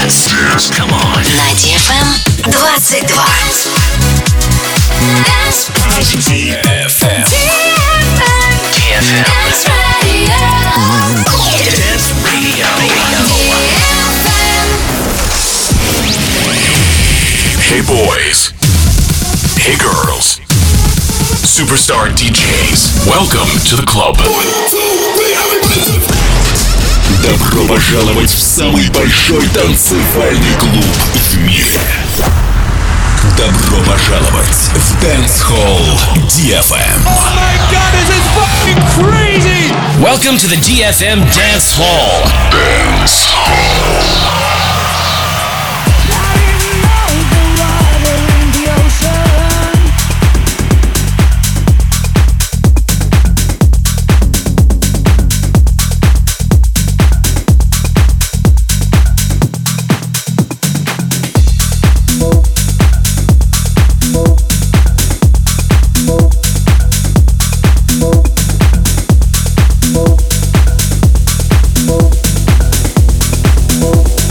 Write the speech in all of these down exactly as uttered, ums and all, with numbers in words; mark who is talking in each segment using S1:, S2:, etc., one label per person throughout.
S1: Dance. Come on.
S2: На ди эф эм двадцать два.
S1: ди эф эм. ди эф эм.
S2: Dance Radio.
S1: Dance Radio. Hey boys. Hey girls. Superstar ди джейс. Welcome to the club.
S3: Добро пожаловать в самый большой танцевальный клуб в мире. Добро пожаловать в Dance Hall ди эф эм.
S4: Oh my god, this is fucking crazy!
S5: Welcome to the ди эф эм Dance Hall.
S1: Dance Hall.
S6: We'll be right back.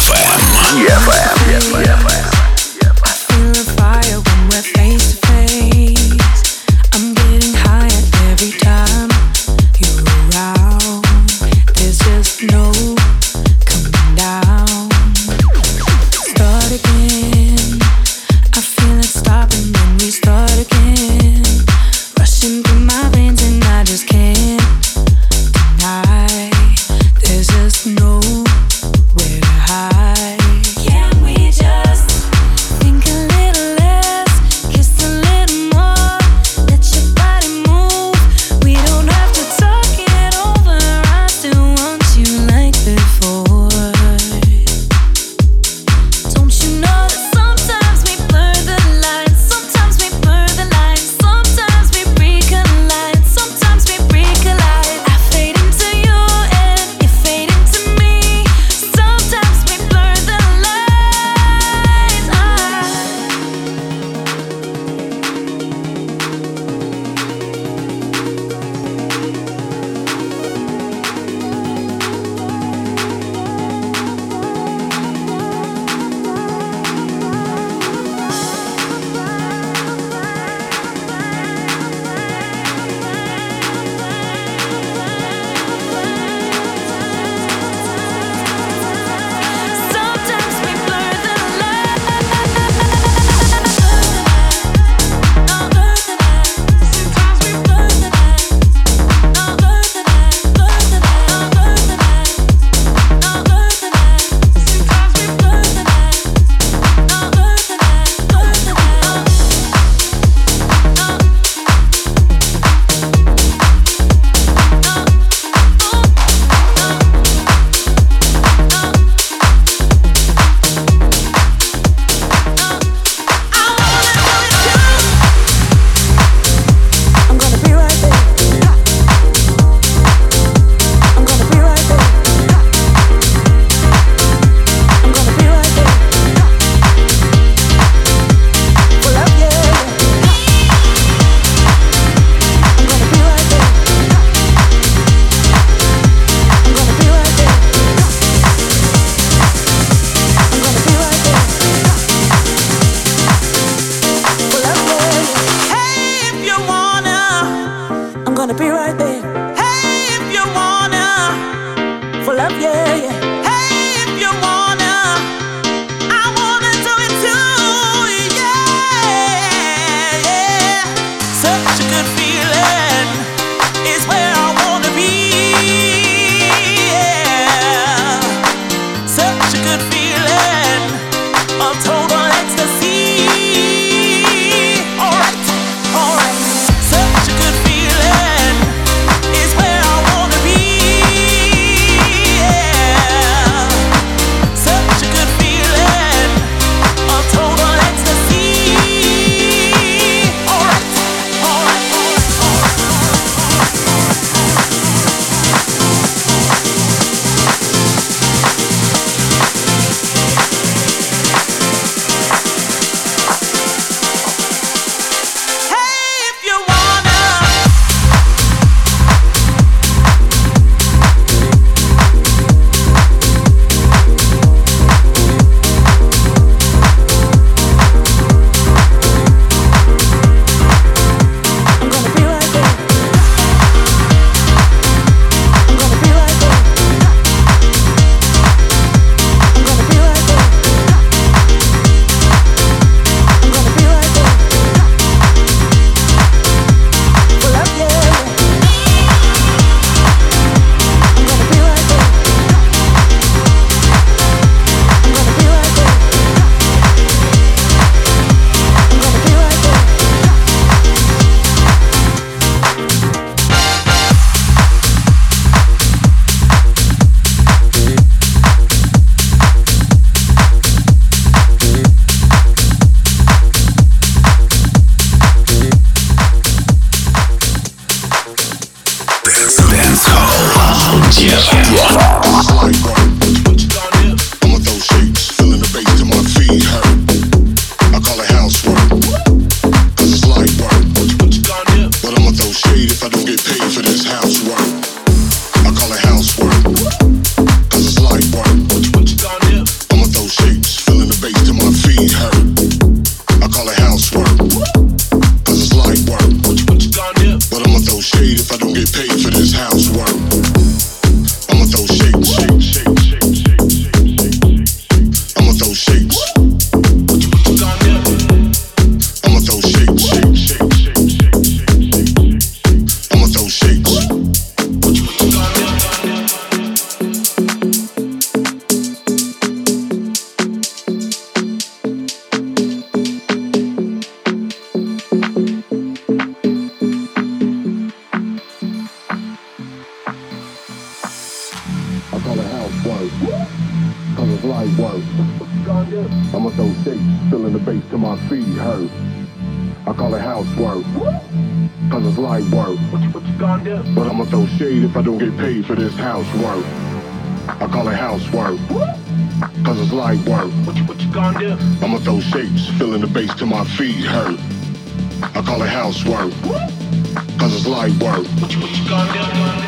S3: эф эм. ди эф эм.
S6: get paid for this housework. I'ma throw shakes, shake, shake, shake, shake, shake, shake. I'ma throw shakes. What you, what you gonna do? I'ma throw shakes, shake, shake, shake, shake, shake, shake, shake. I'ma throw shakes. What you, what you gonna do?
S7: I'ma throw shakes, feeling the bass till my feet hurt. I call it housework, cause it's light work.
S6: What you, what you gonna do?
S7: But I'ma throw shade if I don't get paid for this housework. I call it housework, cause it's light work.
S6: What you, what you gonna do?
S7: I'ma throw shapes, feeling the bass till my feet hurt. I call it housework, cause it's light work.
S6: What you, what you gonna do?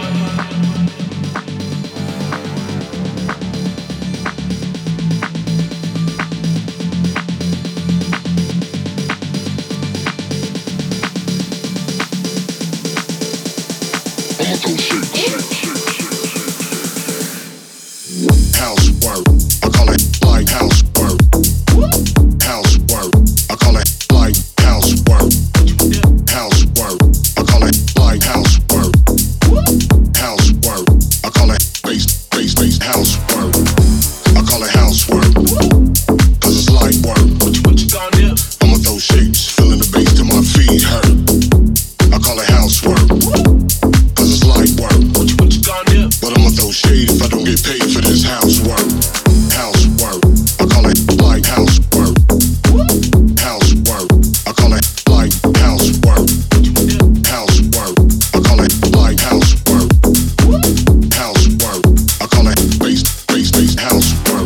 S7: Housework, I call it light housework. Housework, I call it light housework. Housework, I call it light housework. Housework, I call it bass, bass, bass housework. I call it housework, cause it's light work.
S6: What you, what you gonna do?
S7: I'ma throw shapes, feeling the bass till my feet hurt. I call it housework, cause it's light work.
S6: What you, what you gonna do?
S7: But I'ma throw shade if I don't get paid for this housework. Housework, I call it light housework. Housework, I call it light housework. Housework, I call it light housework. Housework, I call it bass, bass, bass housework.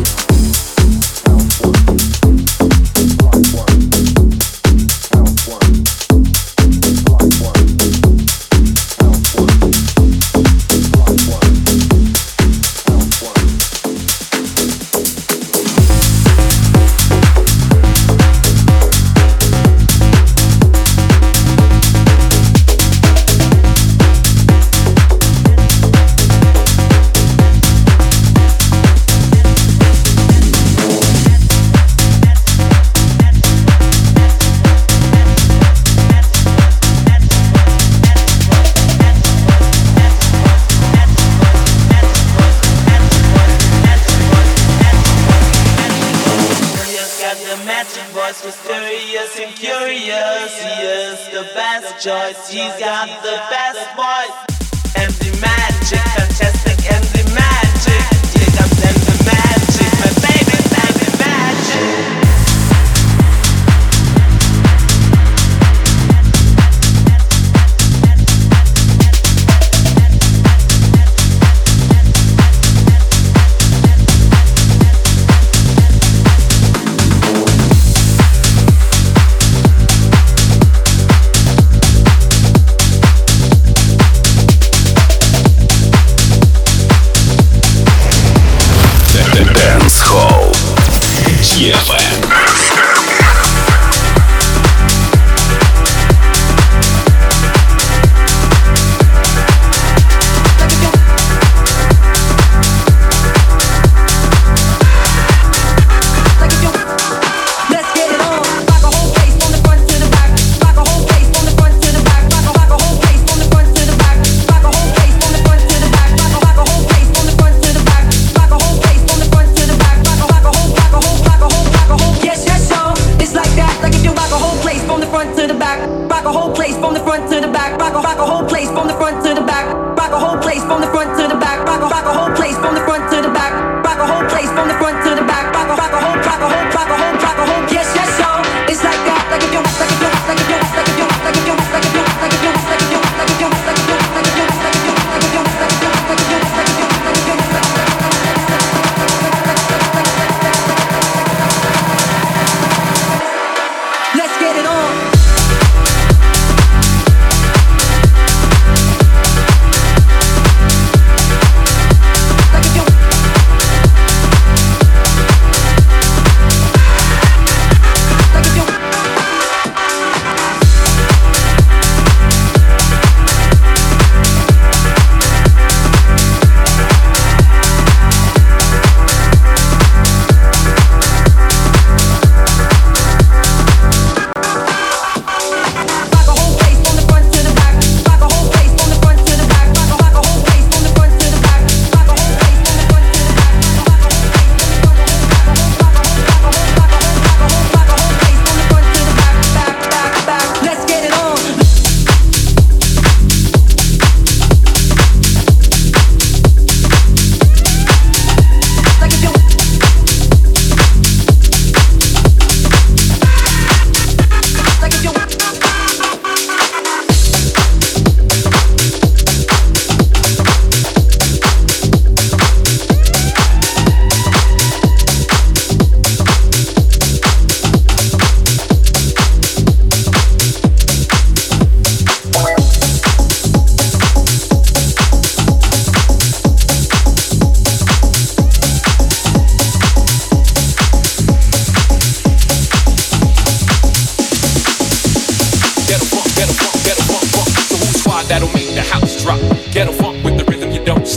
S8: Mysterious and curious, he is the best choice. He's got the best voice. And the magic, fantastic, and the magic. Here comes and the magic, my baby, baby, magic.
S3: Dance Hall ди эф эм.
S9: Like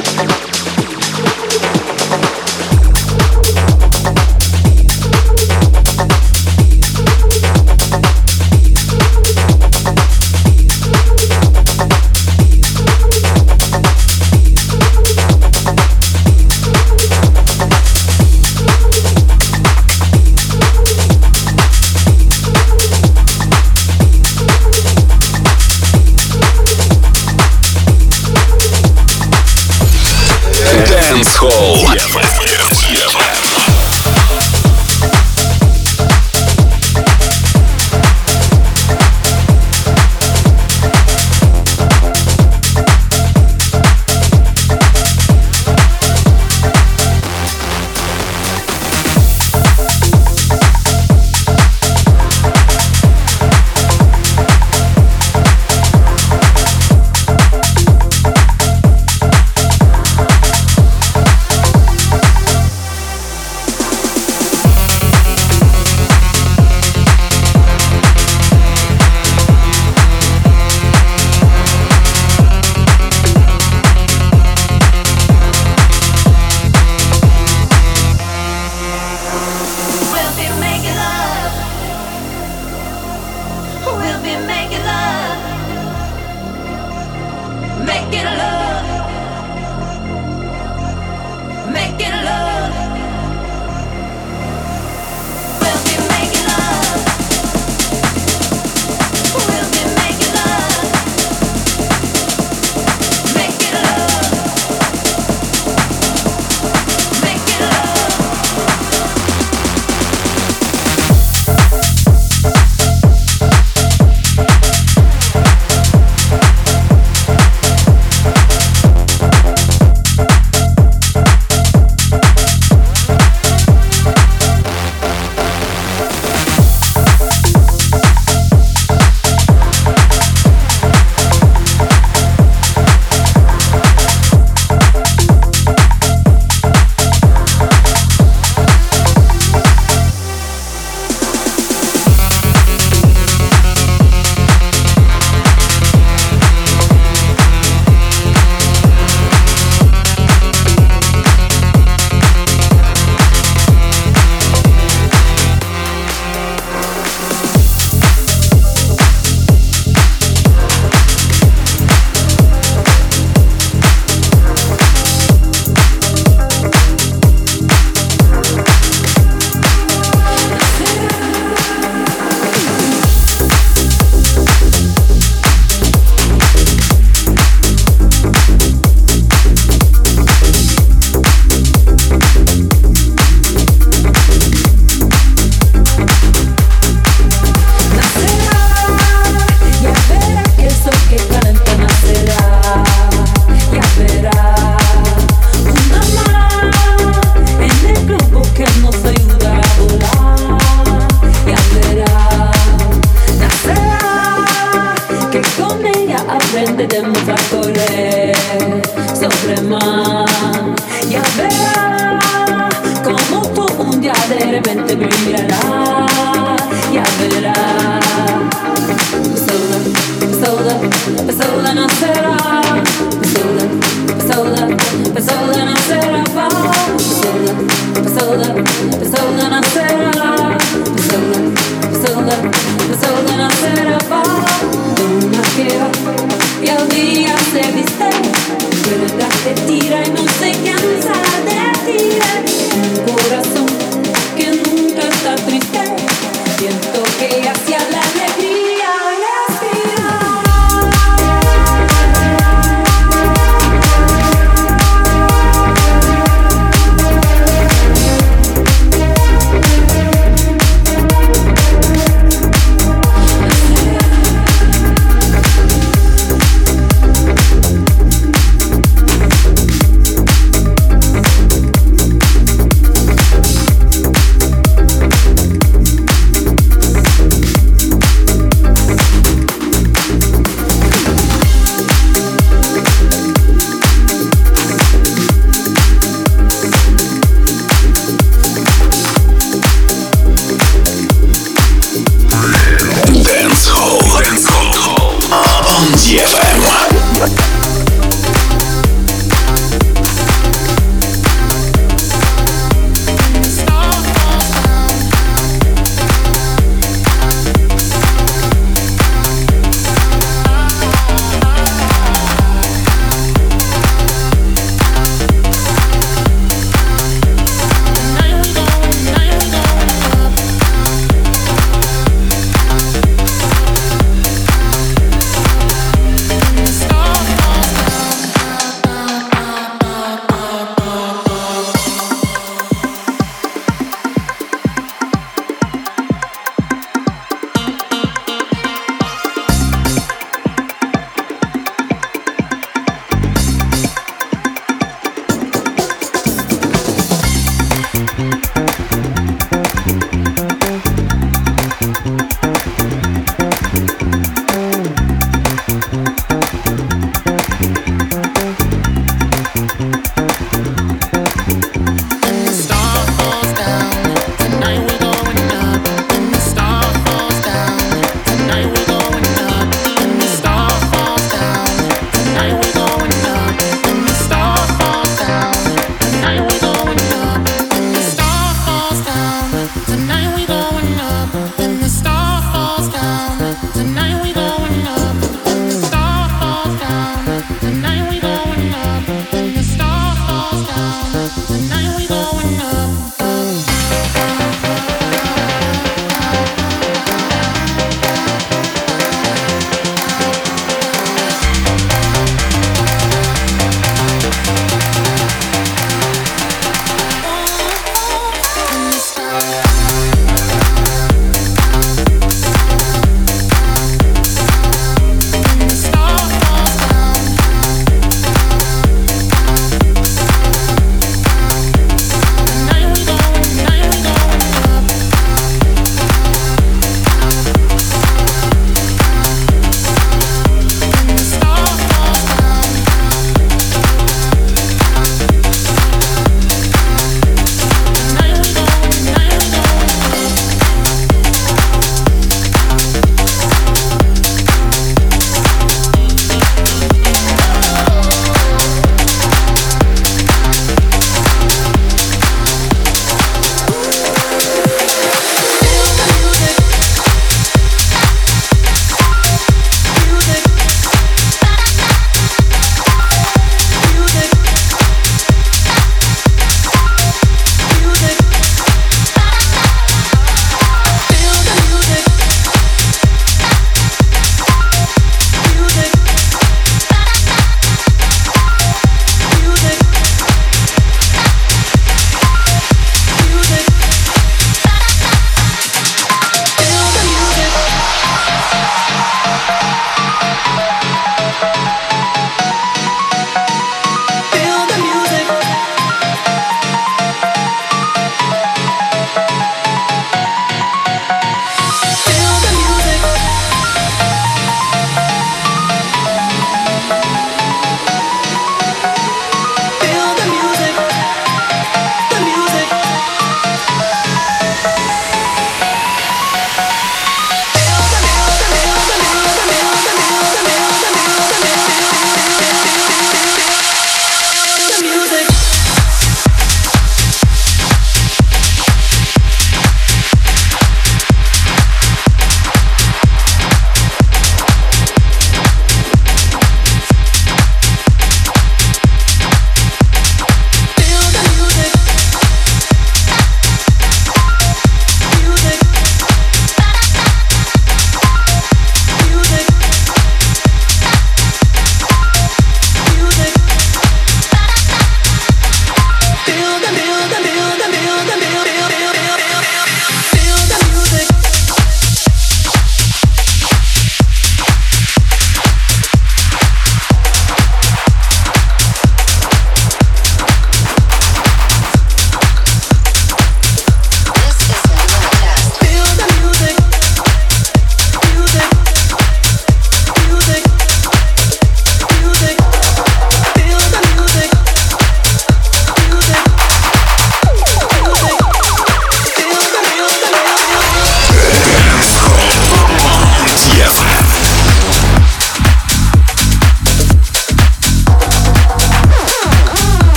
S3: ди эф эм.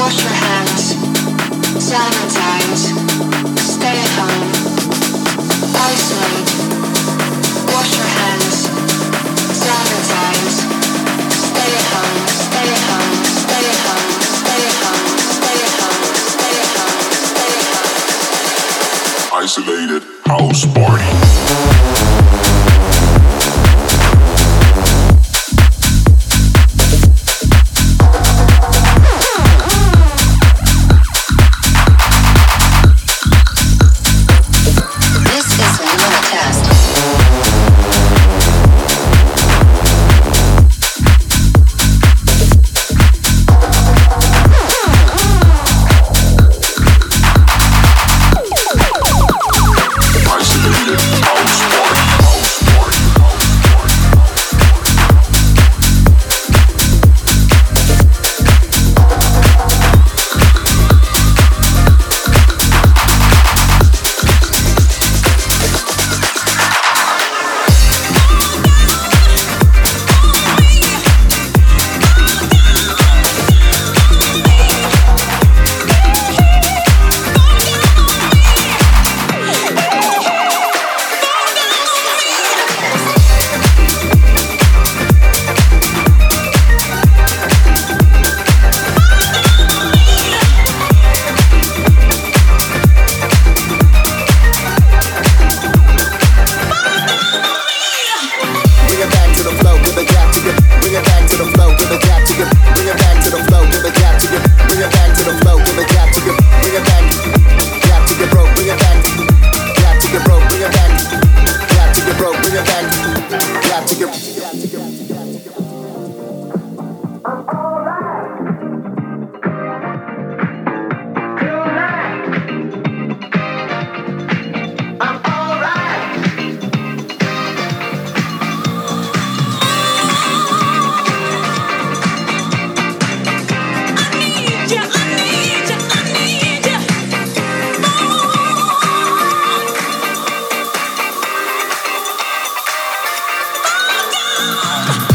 S1: Isolated house party.
S10: Oh,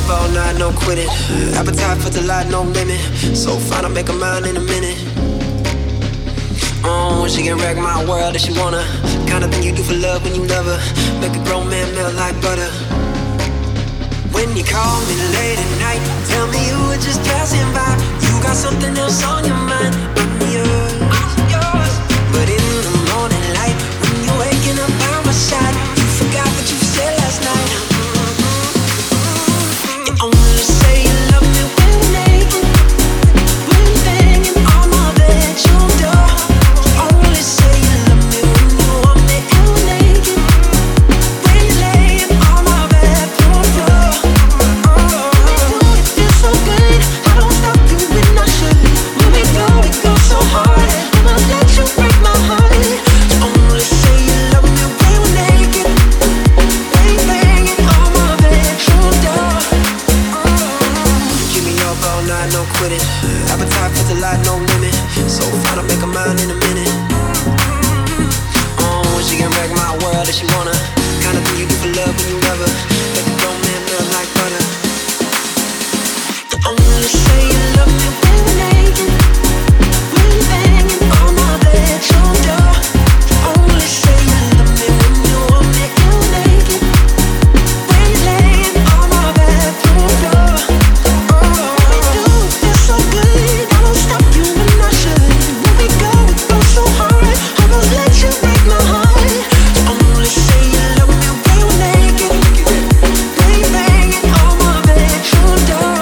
S10: up all night, no quitting. Appetite for delight, no limit. So fine, I'll make a mind in a minute. Oh, she can wreck my world if she wanna. Kind of thing you do for love when you love her. Make a grown man melt like butter. When you call me late at night, tell me you were just passing by. You got something else on your mind. I'm yours, yours. But in the morning light, when you're waking up by my side, you forgot what you said last night. You only say you love me when we're naked, when you're banging on my bedroom door. You only say you love me when you want me and we're naked, when you're laying on my bedroom floor. It feels so good, I don't stop you when I should. When we go, we go so hard, I won't let you break my heart. You only say you love me when we're naked, when you're banging on my bedroom door. Keep me up all night, no quitting. Appetite for delight, no limit. So fine, I'll make a mind in a minute. Oh, she can wreck my world if she wanna. Kind of thing you do for love when you love her. Make a grown man melt like butter. You only say you love me when we're naked, when you're banging on my bedroom door. You only say you love me when you want me and we're naked, when you're laying on my bedroom floor. It feels so good, I don't stop you when I should. When we go, we go so hard, I won't let you break my heart. You only say you love me when we're naked, when you're banging on my bedroom door.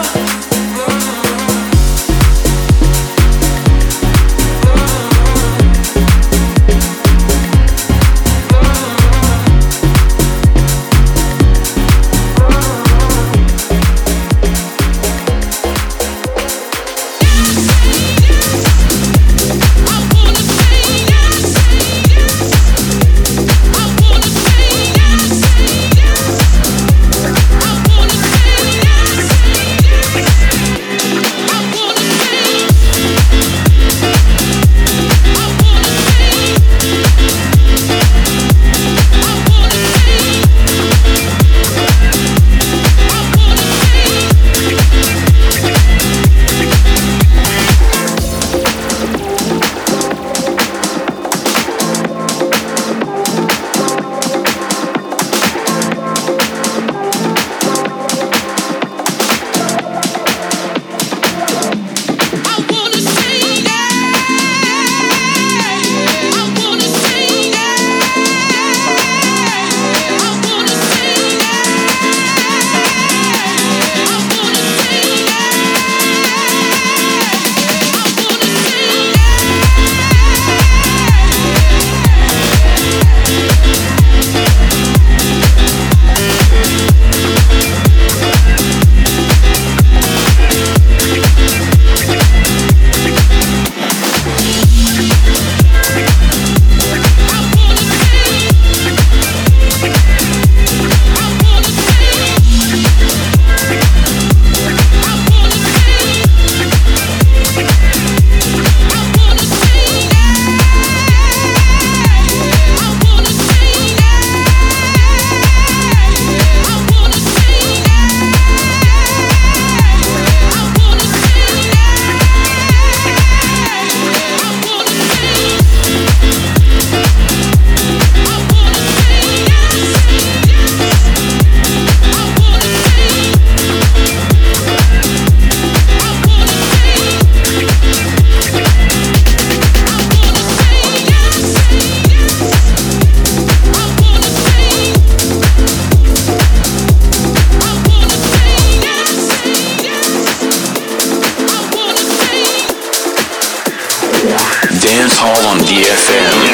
S3: Dance Hall on D F M.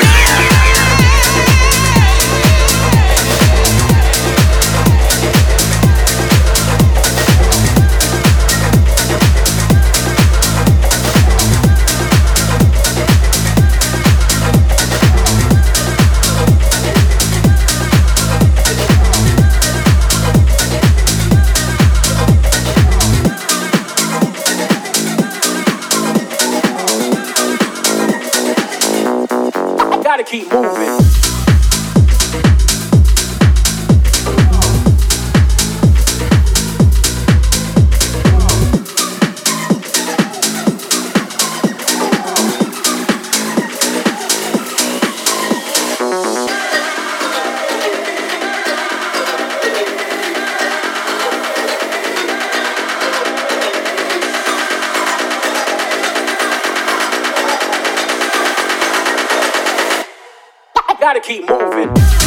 S11: Gotta keep moving. gotta keep moving.